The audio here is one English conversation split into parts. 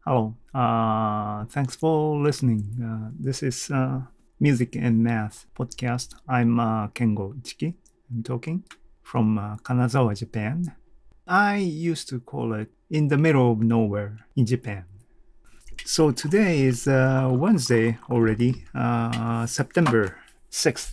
Hello. Thanks for listening. This is Music and Math podcast. I'm Kengo Ichiki. I'm talking from Kanazawa, Japan. I used to call it in the middle of nowhere in Japan. So today is Wednesday already, September 6th.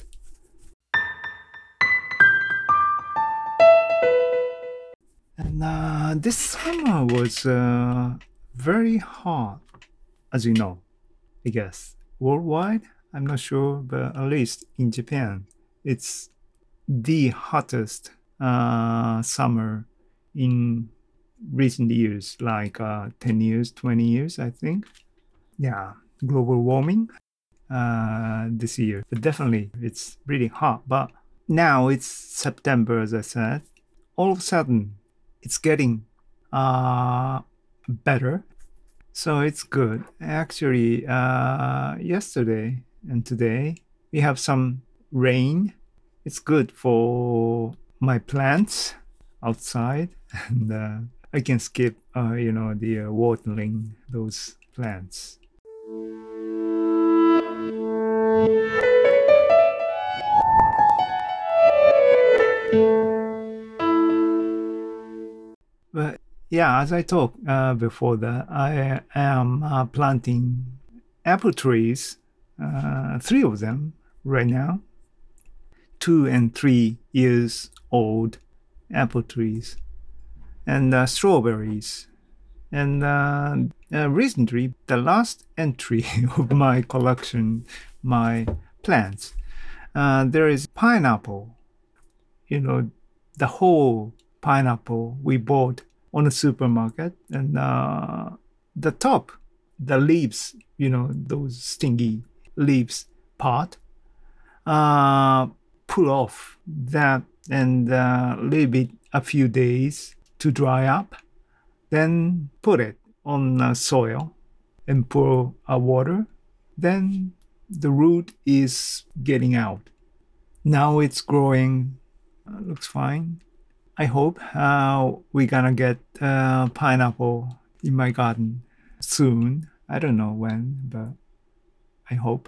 And this summer was very hot, as you know, I guess. Worldwide, I'm not sure, but at least in Japan, it's the hottest summer in recent years, like 10 years, 20 years, I think. Yeah, global warming this year. But definitely, it's really hot. But now it's September, as I said. All of a sudden, it's getting better. So it's good. Actually, yesterday and today, we have some rain. It's good for my plants outside. And I can skip, the watering those plants. But yeah, as I talked before that, I am planting apple trees, 3 of them right now, 2 and 3 years old apple trees, and strawberries. And recently, the last entry of my collection, my plants, there is pineapple. The whole pineapple we bought on a supermarket, and the top, the leaves, those stingy leaves part, pull off that and leave it a few days to dry up, then put it on soil and pour water. Then the root is getting out. Now it's growing, looks fine. I hope we're gonna get pineapple in my garden soon. I don't know when, but I hope.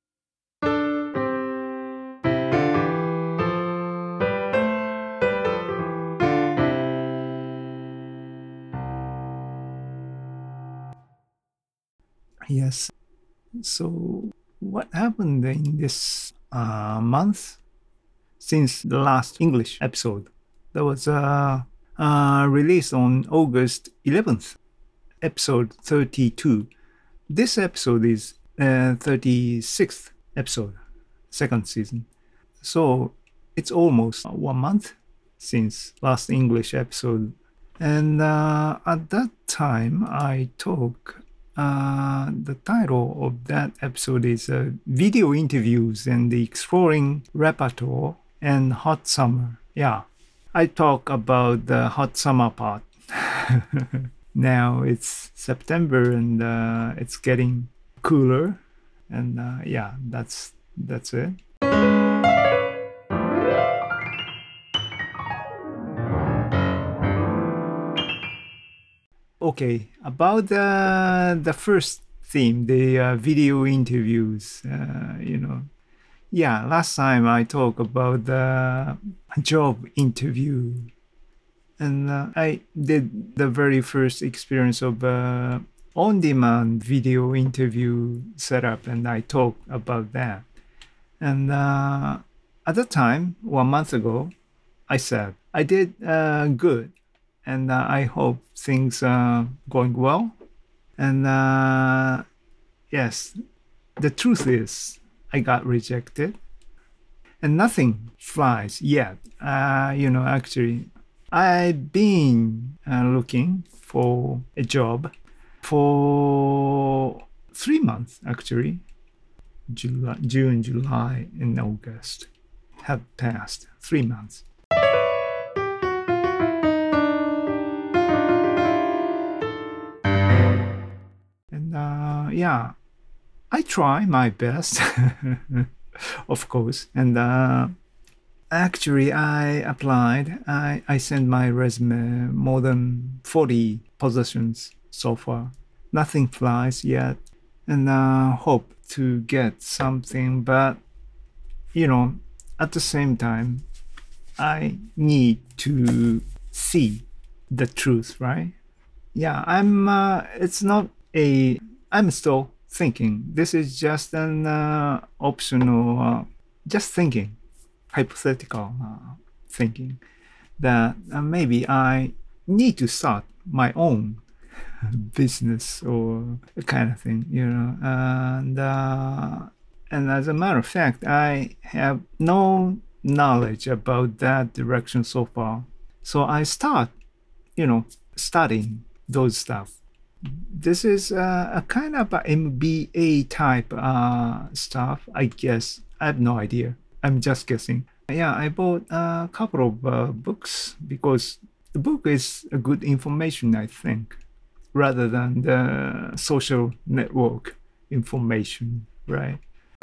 Yes. So what happened in this month since the last English episode? That was released on August 11th, episode 32. This episode is 36th episode, second season. So it's almost 1 month since last English episode. And at that time, I talk. The title of that episode is Video Interviews and the Exploring Repertoire and Hot Summer. Yeah, I talk about the hot summer part. Now it's September and it's getting cooler. And yeah, that's it. Okay, about the first theme, the video interviews, Yeah, last time I talked about the job interview. And I did the very first experience of on-demand video interview setup, and I talked about that. And at the time, 1 month ago, I said, I did good. And I hope things are going well. And yes, the truth is, I got rejected. And nothing flies yet. Actually, I've been looking for a job for 3 months, actually. June, July, and August have passed 3 months. Yeah, I try my best, of course. And actually, I applied. I sent my resume more than 40 positions so far. Nothing flies yet, and hope to get something. But at the same time, I need to see the truth, right? Yeah, I'm. It's not a. I'm still thinking. This is just an optional. Just thinking, hypothetical thinking that maybe I need to start my own business or a kind of thing, and as a matter of fact, I have no knowledge about that direction so far. So I start, studying those stuff. This is a kind of a MBA type stuff, I guess. I have no idea. I'm just guessing. Yeah, I bought a couple of books because the book is a good information, I think, rather than the social network information, right?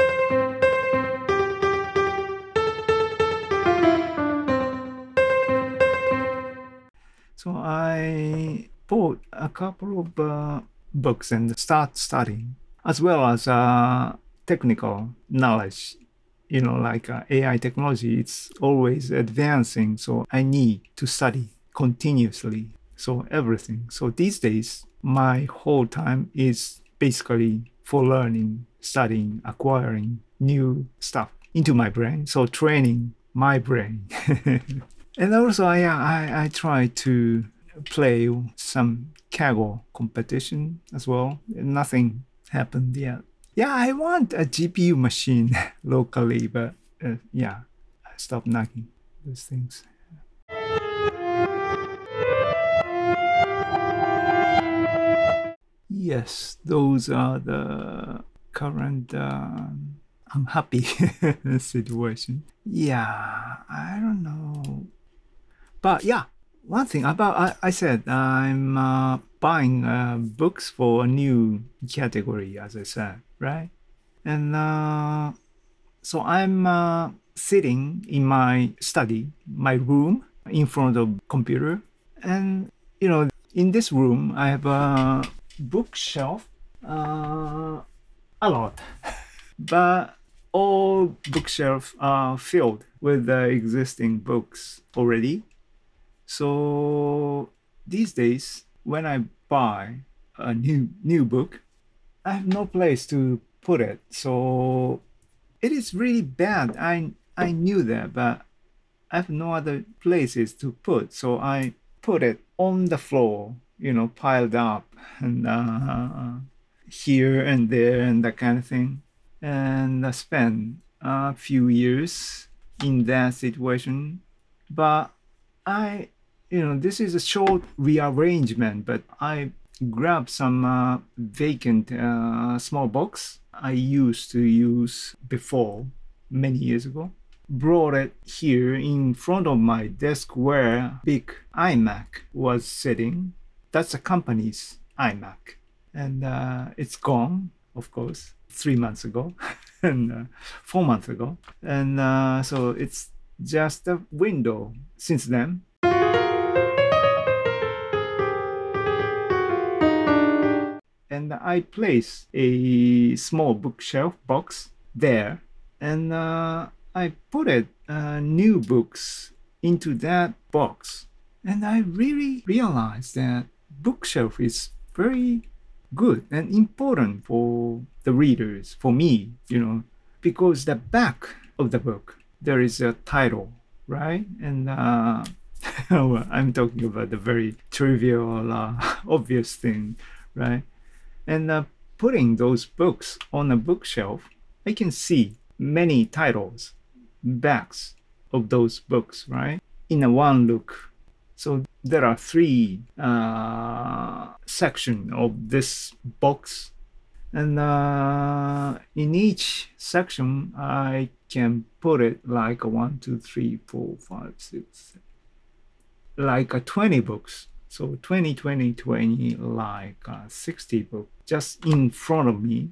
So I bought a couple of books and start studying, as well as technical knowledge. Like AI technology, it's always advancing. So I need to study continuously. So everything. So these days, my whole time is basically for learning, studying, acquiring new stuff into my brain. So training my brain. And also, I try to play some Kaggle competition as well. Nothing happened yet. Yeah, I want a GPU machine locally, but yeah, I stopped knocking those things. Yes, those are the current unhappy situation. Yeah, I don't know. But yeah, one thing about I said I'm buying books for a new category, as I said, right? And so I'm sitting in my study, my room, in front of computer, and in this room I have a bookshelf, a lot, but all bookshelves are filled with the existing books already. So these days, when I buy a new book, I have no place to put it. So it is really bad. I knew that, but I have no other places to put. So I put it on the floor, piled up, and here and there and that kind of thing. And I spent a few years in that situation. But I, this is a short rearrangement, but I grabbed some vacant small box I used to use before many years ago, brought it here in front of my desk where big iMac was sitting. That's a company's iMac. And it's gone, of course, 3 months ago and 4 months ago. And so it's just a window since then. And I placed a small bookshelf box there, and I put it new books into that box. And I really realized that bookshelf is very good and important for the readers, for me, because the back of the book there is a title, right? And well, I'm talking about the very trivial, obvious thing, right? And putting those books on a bookshelf, I can see many titles, backs of those books, right? In a one look. So there are three sections of this box. And in each section, I can put it like a 1, 2, 3, 4, 5, 6, like a 20 books. So 20, 20, 20, like 60 books just in front of me.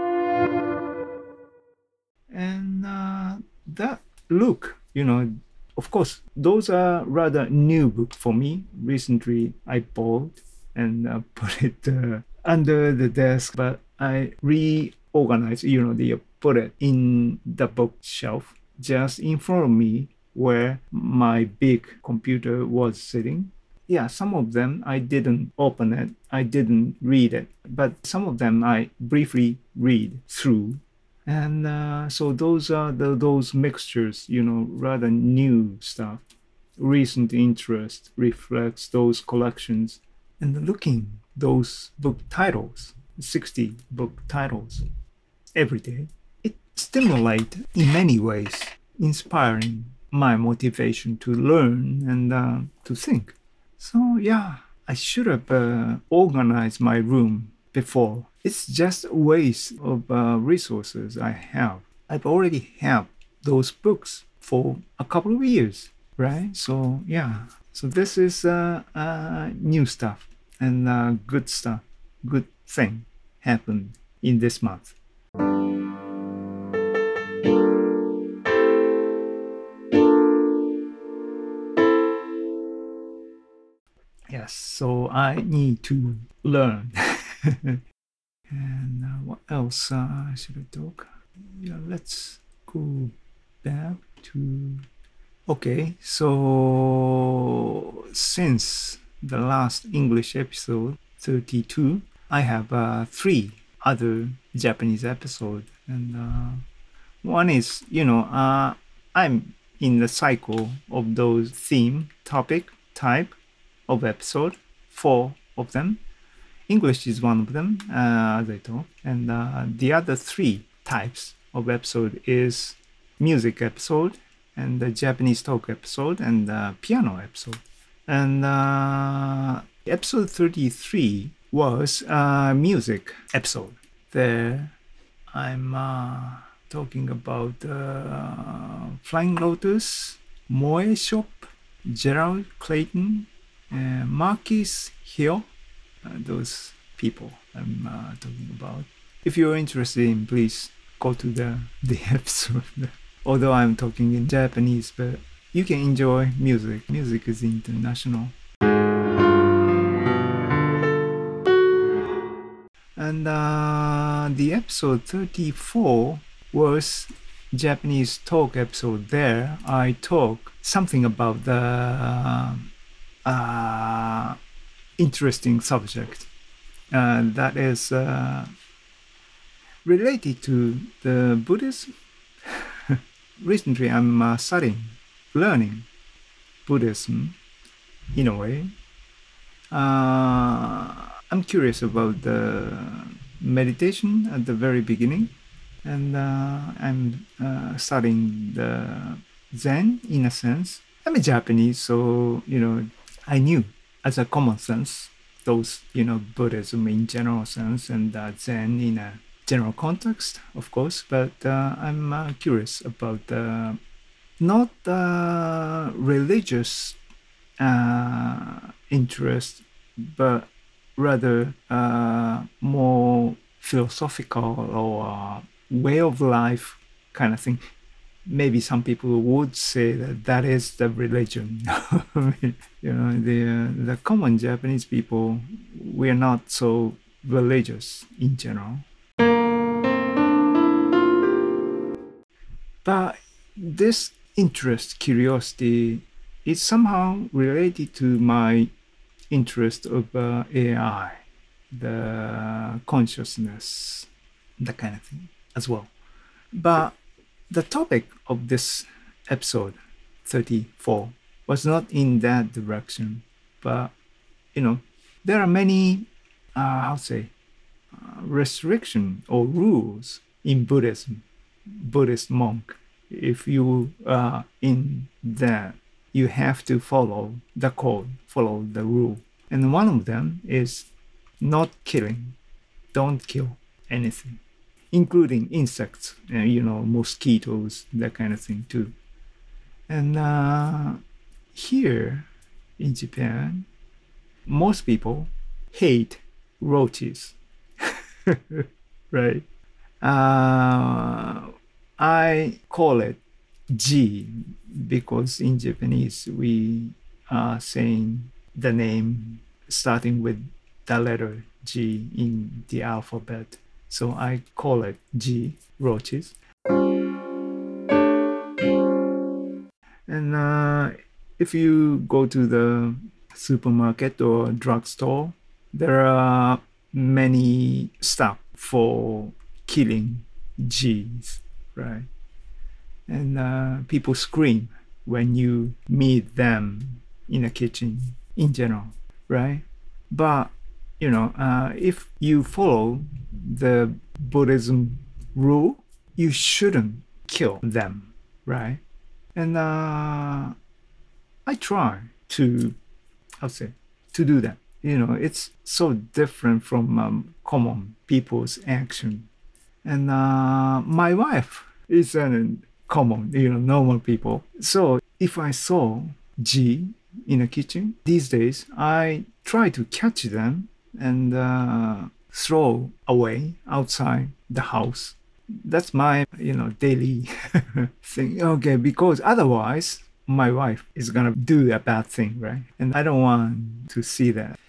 And that look, of course, those are rather new book for me. Recently, I bought and put it under the desk, but I reorganized, they put it in the bookshelf just in front of me where my big computer was sitting. Yeah, some of them I didn't open it, I didn't read it, but some of them I briefly read through. And so those are those mixtures, rather new stuff. Recent interest reflects those collections. And looking those book titles, 60 book titles, every day, it stimulates in many ways, inspiring my motivation to learn and to think. So yeah, I should have organized my room before. It's just a waste of resources I have. I've already have those books for a couple of years, right? So yeah, so this is new stuff and good stuff, good thing happened in this month. Yes, so I need to learn. And what else should I talk? Yeah, let's go back to. Okay, so since the last English episode 32, I have 3 other Japanese episodes, and one is I'm in the cycle of those theme topic type of episode, 4 of them. English is one of them, as I told, and the other 3 types of episode is music episode, and the Japanese talk episode, and the piano episode. And episode 33 was a music episode. There, I'm talking about Flying Lotus, Moe Shop, Gerald Clayton, Marquis Hill. Those people I'm talking about. If you're interested in, please go to the episode. Although I'm talking in Japanese, but you can enjoy music. Music is international. And the episode 34 was Japanese talk episode. There I talk something about the interesting subject that is related to the Buddhism. Recently I'm learning Buddhism in a way. I'm curious about the meditation at the very beginning, and I'm studying the Zen in a sense. I'm a Japanese, so I knew as a common sense those Buddhism in general sense and Zen in a general context, of course. But I'm curious about not religious interest, but rather more philosophical or way of life kind of thing. Maybe some people would say that is the religion. The common Japanese people, we are not so religious in general. But this interest, curiosity, is somehow related to my interest of AI, the consciousness, that kind of thing as well. But the topic of this episode 34 was not in that direction, but there are many restriction or rules in Buddhism. Buddhist monk, if you are in that, you have to follow the code, follow the rule, and one of them is not killing. Don't kill anything, including insects, mosquitoes, that kind of thing too. And here in Japan, most people hate roaches, right? I call it G, because in Japanese we are saying the name starting with the letter G in the alphabet. So I call it G, roaches. And if you go to the supermarket or drugstore, there are many stuff for killing G's, right? And people scream when you meet them in a kitchen in general, right? But if you follow the Buddhism rule, you shouldn't kill them, right? And I try to, to do that. It's so different from common people's action. And my wife is a common, normal people. So if I saw G in a kitchen these days, I try to catch them and throw away outside the house. That's my, daily thing. Okay, because otherwise my wife is gonna do a bad thing, right? And I don't want to see that.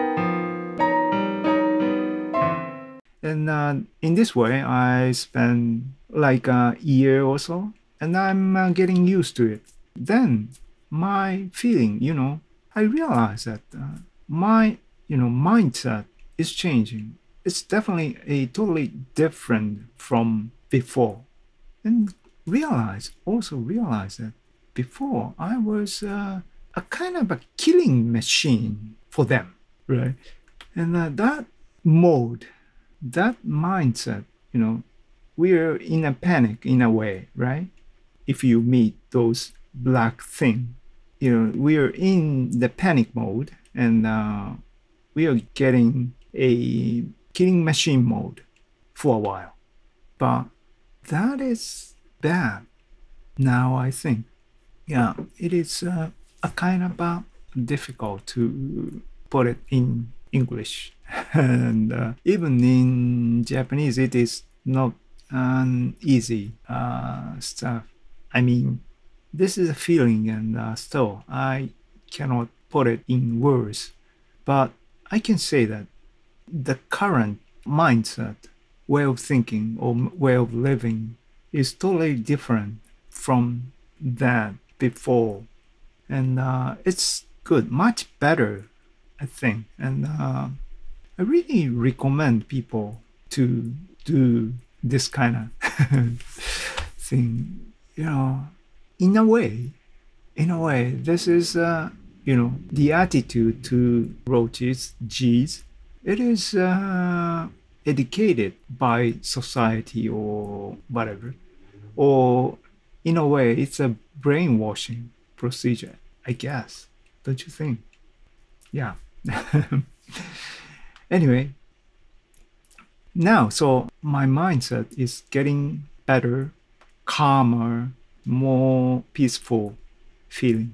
And in this way, I spend like a year or so, and I'm getting used to it. Then my feeling, I realize that my, mindset is changing. It's definitely a totally different from before. And also realize that before I was a kind of a killing machine for them, right? And that mode, that mindset, we're in a panic in a way, right? If you meet those black things, we're in the panic mode, and we are getting a killing machine mode for a while. But that is bad now, I think. Yeah, it is a kind of difficult to put it in English. And even in Japanese, it is not an easy stuff. I mean, this is a feeling, and still I cannot put it in words. But I can say that the current mindset, way of thinking or way of living is totally different from that before. And it's good, much better, I think. And I really recommend people to do this kind of thing. In a way, this is the attitude to roaches, G's. It is educated by society or whatever, or in a way, it's a brainwashing procedure, I guess. Don't you think? Yeah. Anyway, now, so my mindset is getting better, calmer, more peaceful feeling.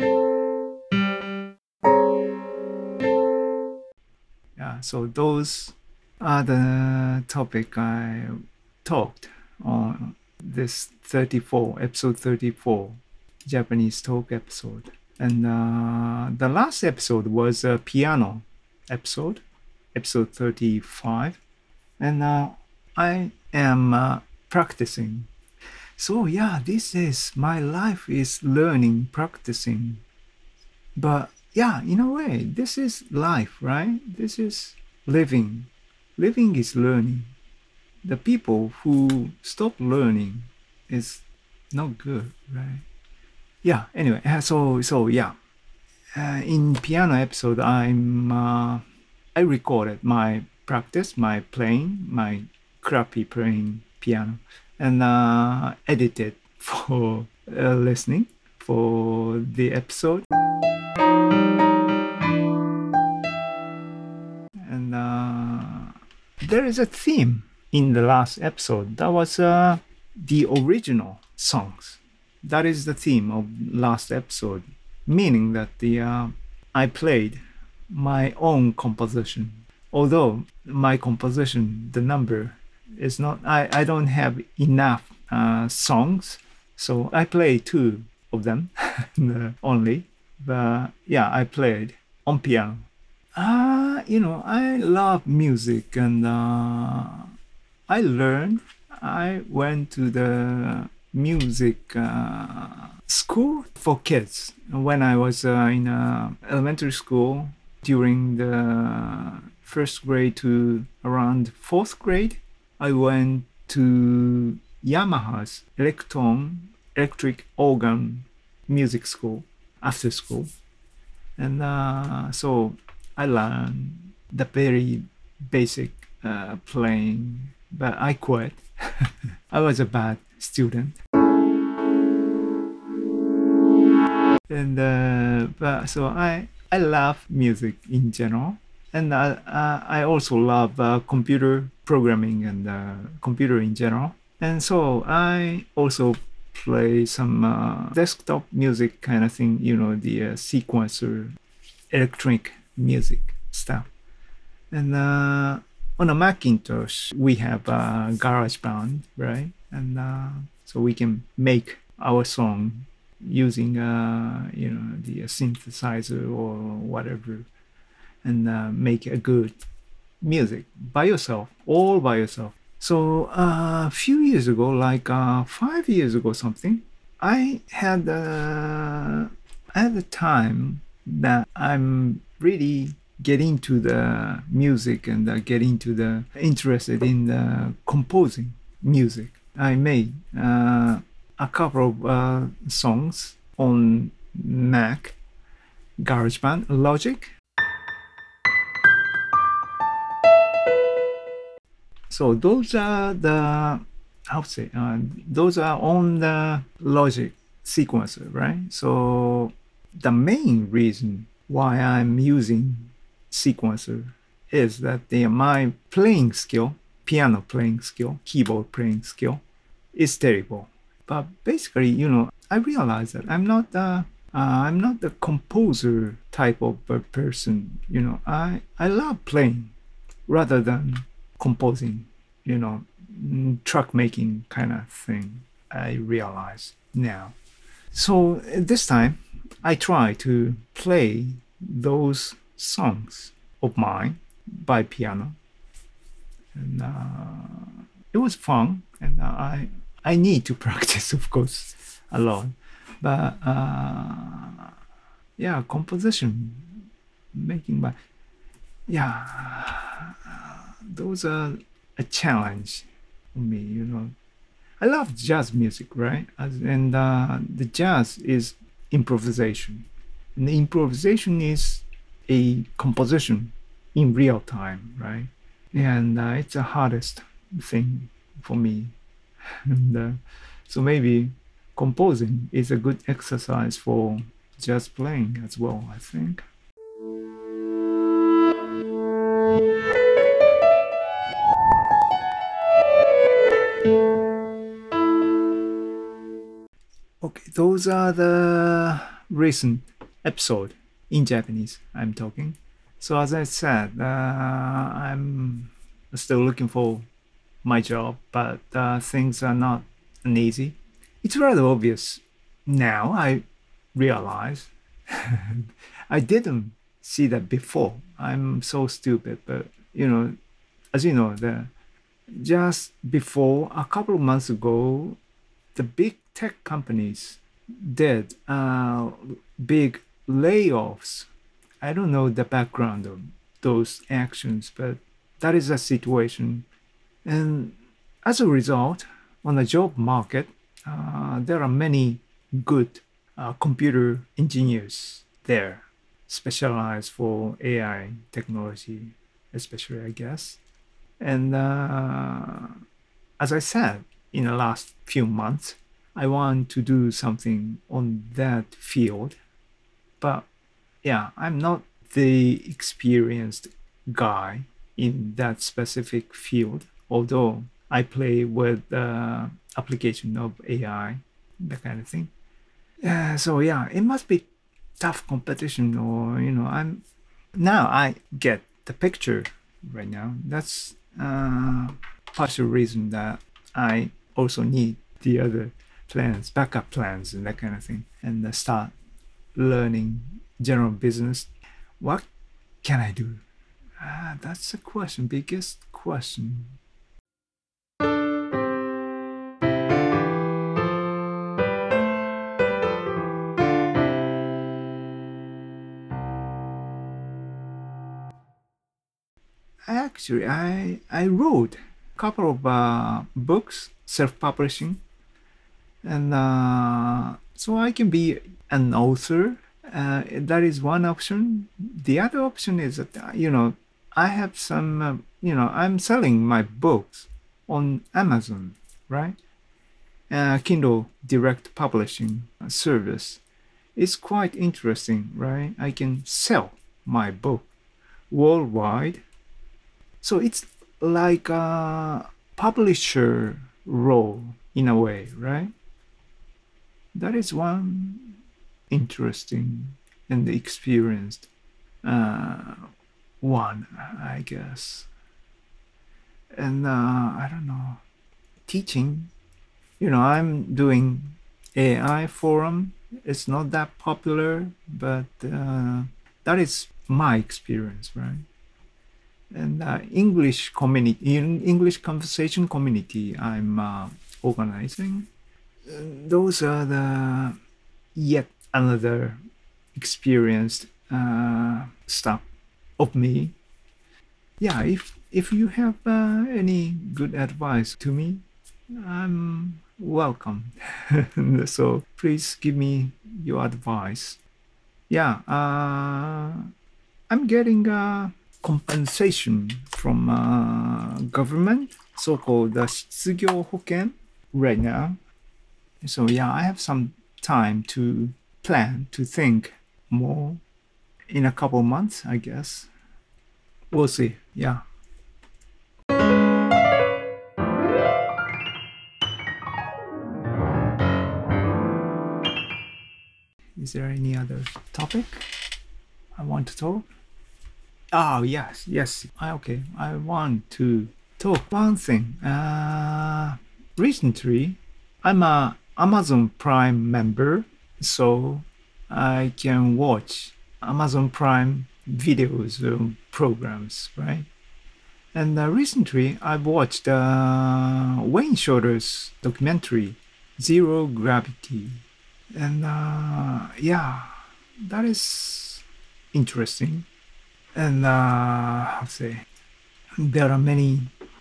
Yeah, so those are the topic I talked on this episode 34, Japanese talk episode. And the last episode was a piano episode 35. And I am practicing. So yeah, this is my life is learning, practicing. But yeah, in a way, this is life, right? This is living. Living is learning. The people who stop learning is not good, right? Yeah, anyway, so yeah. In piano episode, I recorded my practice, my playing, my crappy playing piano, and edited for listening for the episode. And there is a theme in the last episode. That was the original songs. That is the theme of last episode, meaning that I played my own composition. Although my composition, the number is not, I don't have enough songs So I played two of them only. But yeah, I played on piano. I love music and I learned. I went to the music school for kids when I was in elementary school during the first grade to around fourth grade. I went to Yamaha's electric organ music school after school. And so I learned the very basic playing, but I quit. I was a bad student. And but so I love music in general, and I also love computer programming and computer in general. And so I also play some desktop music kind of thing, the sequencer, electronic music stuff. And on a Macintosh, we have a GarageBand, right? And so we can make our song using, the synthesizer or whatever, and make a good music by yourself, all by yourself. So a few years ago, like 5 years ago, something, I had a time that I'm really getting to the music and getting to the interested in composing music. I made a couple of songs on Mac, GarageBand, Logic. So those are the, how to say, those are on the Logic sequencer, right? So the main reason why I'm using sequencer is that my playing skill, piano playing skill, keyboard playing skill is terrible. But basically, I realize that I'm not the composer type of a person. I love playing rather than composing, track making kind of thing. I realize now. So this time, I try to play those songs of mine by piano, and it was fun. And I need to practice, of course, a lot. But yeah, composition, making by, yeah, those are a challenge for me. I love jazz music, right? And the jazz is improvisation, and the improvisation is a composition in real time, right? And it's the hardest thing for me. And so maybe composing is a good exercise for jazz playing as well, I think. Okay, those are the recent episode in Japanese I'm talking. So as I said, I'm still looking for my job, but things are not easy. It's rather obvious now. I realize I didn't see that before. I'm so stupid, but as you know, just before a couple of months ago, the big tech companies did big layoffs. I don't know the background of those actions, but that is a situation. And as a result, on the job market, there are many good computer engineers there, specialized for AI technology, especially, I guess. And as I said, in the last few months, I want to do something on that field. But yeah, I'm not the experienced guy in that specific field, although I play with application of AI, that kind of thing. So yeah, it must be tough competition, or I get the picture right now. That's partial reason that I also need the other plans, backup plans, and that kind of thing, and start learning general business. What can I do? That's the question, biggest question. Actually, I wrote a couple of books, self-publishing, and so I can be an author. That is one option. The other option is that I have some I'm selling my books on Amazon, right? Kindle Direct Publishing service. It's quite interesting, right? I can sell my book worldwide. So it's like a publisher role in a way, right? That is one interesting and experienced one, I guess. And I don't know, teaching. I'm doing AI forum. It's not that popular, but that is my experience, right? And English community, English conversation community, I'm organizing. Those are the yet another experienced stuff of me. Yeah, if you have any good advice to me, I'm welcome. So please give me your advice. Yeah, I'm getting compensation from government, so-called 失業保険 right now. So yeah, I have some time to plan, to think more in a couple months, I guess. We'll see. Yeah. Is there any other topic I want to talk? Oh, yes. Okay. I want to talk one thing. Recently, I'm a Amazon Prime member, so I can watch Amazon Prime videos, programs, right? And recently, I've watched Wayne Shorter's documentary, Zero Gravity. And yeah, that is interesting. And I'll say there are many,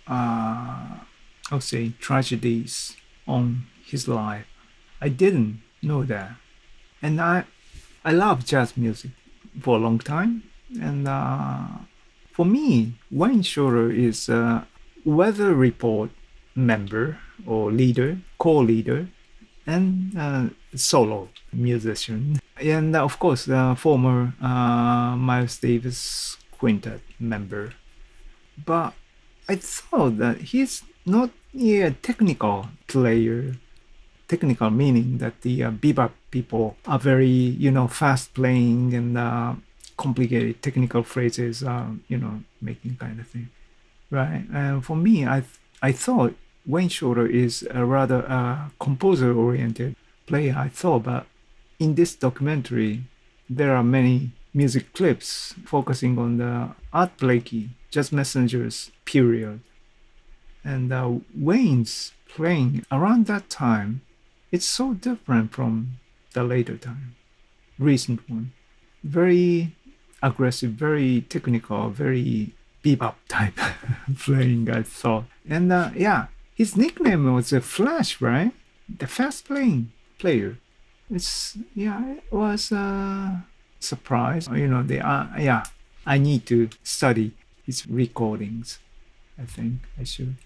I'll say, tragedies on his life. I didn't know that. And I love jazz music for a long time. And for me, Wayne Shorter is a Weather Report member or leader, co-leader, and solo musician. And of course, the former Miles Davis Quintet member. But I thought that he's not a technical player. Technical meaning that the bebop people are very, fast playing and complicated technical phrases, making kind of thing, right? And for me, I thought Wayne Shorter is a rather composer-oriented player. I thought, but in this documentary, there are many music clips focusing on the Art Blakey, Jazz Messengers period, and Wayne's playing around that time. It's so different from the later time, recent one. Very aggressive, very technical, very bebop type playing, I thought. And yeah, his nickname was Flash, right? The fast playing player. It was a surprise. I need to study his recordings. I think I should.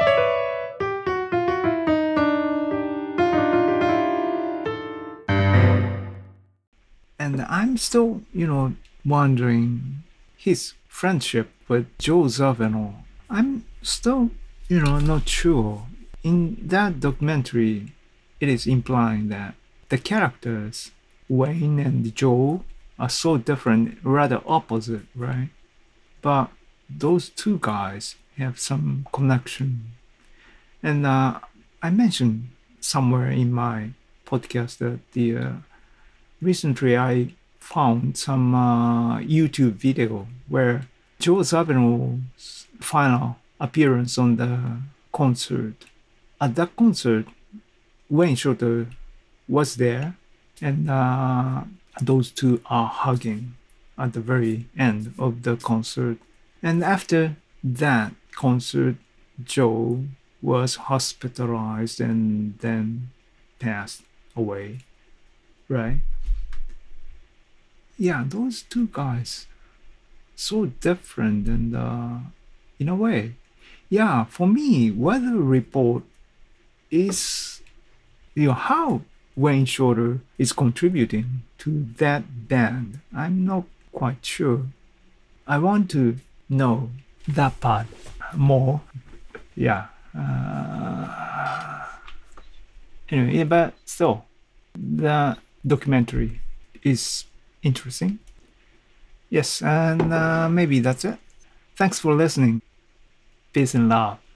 And I'm still, wondering his friendship with Joe Zawinul. I'm still, not sure. In that documentary, it is implying that the characters, Wayne and Joe, are so different, rather opposite, right? But those two guys have some connection. And I mentioned somewhere in my podcast that recently I found some YouTube video where Joe Zawinul's final appearance on the concert. At that concert, Wayne Shorter was there, and those two are hugging at the very end of the concert. And after that concert, Joe was hospitalized and then passed away, right? Yeah, those two guys, so different, and in a way, yeah, for me, Weather Report is, how Wayne Shorter is contributing to that band. I'm not quite sure. I want to know that part more. Yeah. Anyway, but still, the documentary is interesting. Yes, and maybe that's it. Thanks for listening. Peace and love.